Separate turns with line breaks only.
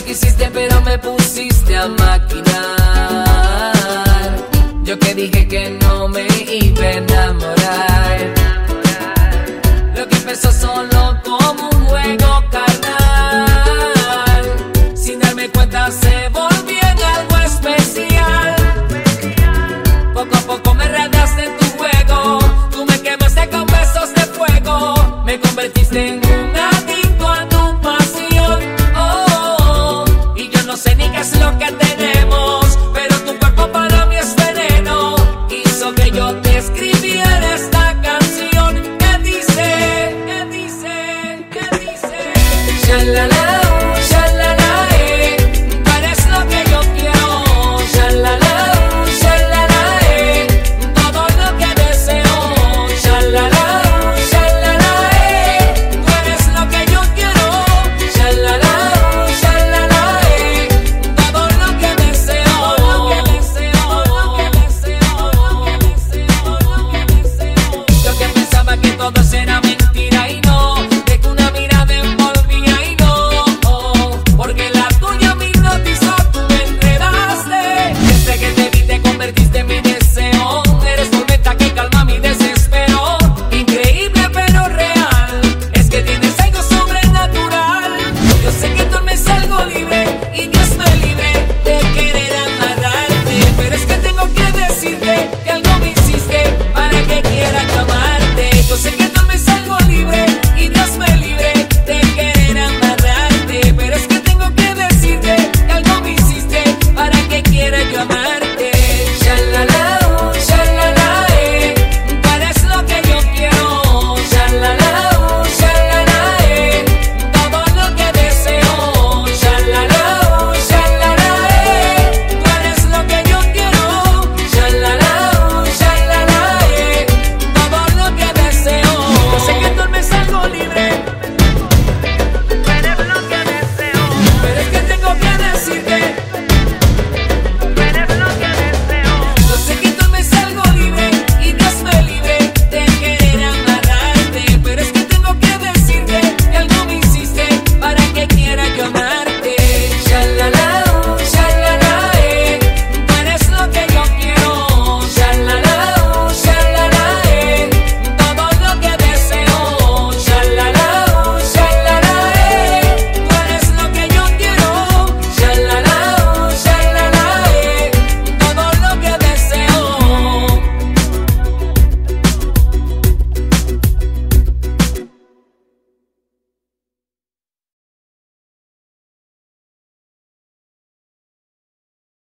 quisiste pero me pusiste a maquinar. Yo que dije que no me iba a enamorar. Lo que empezó solo como un juego carnal, sin darme cuenta se volvió en algo especial. Poco a poco me radiaste en tu juego, tú me quemaste con besos de fuego, me convertiste en un adicto a tu pasión. Y yo no sé ni qué es lo que tenemos, pero tu cuerpo para mí es veneno. Hizo que yo te escriba